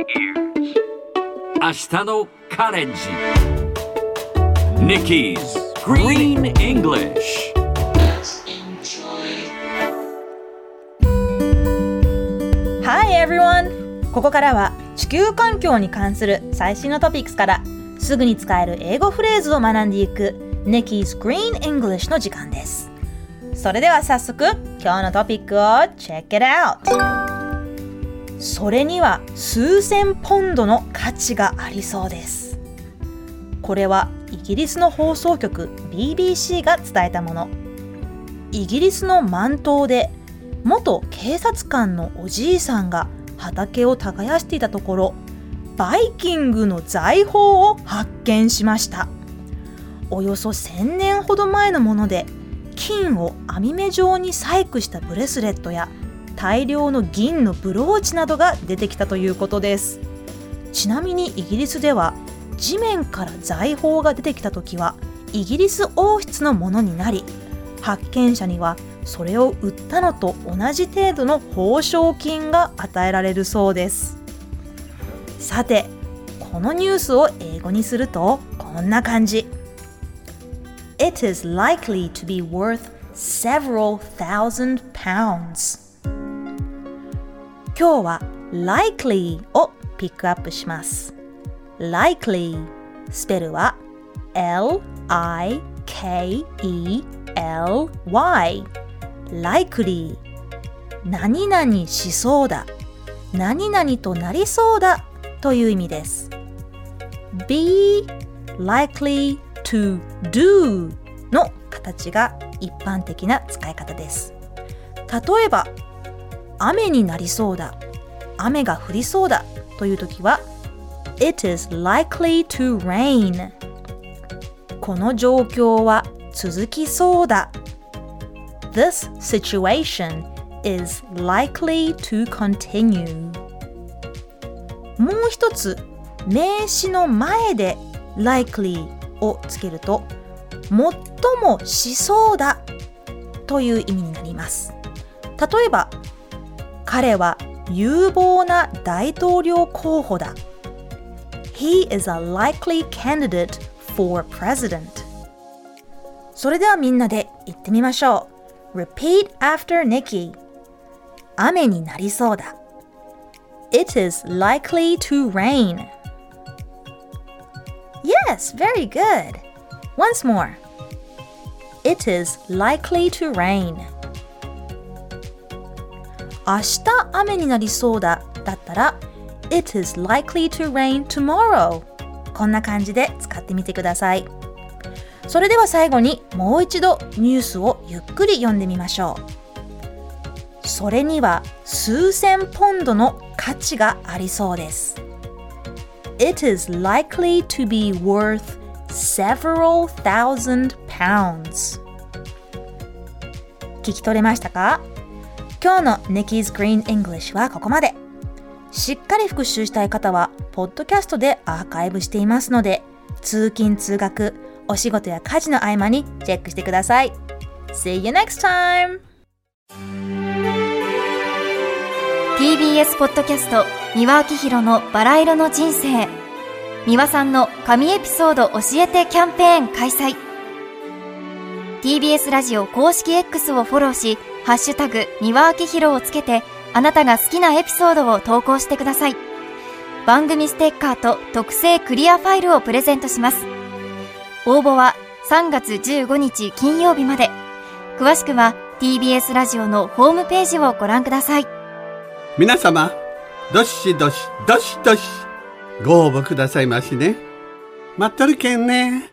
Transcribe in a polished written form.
明日のカレンジ Nikki's Green English。 Hi everyone! ここからは地球環境に関する最新のトピックスからすぐに使える英語フレーズを学んでいく Nikki's Green English の時間です。それでは早速今日のトピックを Check it out！ それには数千ポンドの価値がありそうです。これはイギリスの放送局 BBC が伝えたもの。イギリスのマン島で元警察官のおじいさんが畑を耕していたところ、バイキングの財宝を発見しました。およそ1000年ほど前のもので、金を網目状に細工したブレスレットや大量の銀のブローチなどが出てきたということです。ちなみにイギリスでは地面から財宝が出てきたときはイギリス王室のものになり、発見者にはそれを売ったのと同じ程度の報奨金が与えられるそうです。さて、このニュースを英語にするとこんな感じ。It is likely to be worth several thousand pounds。 今日は likely をピックアップします。 likely スペルは L-I-K-E-L-Y likely 何々しそうだ、何々となりそうだという意味です。 Be likely to do の形が一般的な使い方です。例えば雨になりそうだ、雨が降りそうだというときは It is likely to rain。 この状況は続きそうだ。This situation is likely to continue。 もう一つ、名詞の前で likely をつけると、最もしそうだという意味になります。例えば、彼は有望な大統領候補だ。He is a likely candidate for president。 それではみんなで言ってみましょう。Repeat after Nikki。 雨になりそうだ。 It is likely to rain。 Yes, very good. Once more. It is likely to rain。 明日雨になりそうだだったら It is likely to rain tomorrow。 こんな感じで使ってみてください。それでは最後にもう一度ニュースをゆっくり読んでみましょう。それには数千ポンドの価値がありそうです。 It is likely to be worth several thousand pounds。 聞き取れましたか？今日の Nikki's Green English はここまで。しっかり復習したい方はポッドキャストでアーカイブしていますので、通勤通学、お仕事や家事の合間にチェックしてください。 See you next time! TBS ポッドキャスト三輪明宏のバラ色の人生。三輪さんの神エピソード教えてキャンペーン開催。 TBS ラジオ公式 X をフォローし、ハッシュタグ三輪明宏をつけて、あなたが好きなエピソードを投稿してください。番組ステッカーと特製クリアファイルをプレゼントします。応募は3月15日金曜日まで。詳しくは TBS ラジオのホームページをご覧ください。 皆様、どしどしどしどしご応募くださいましね。待っとるけんね。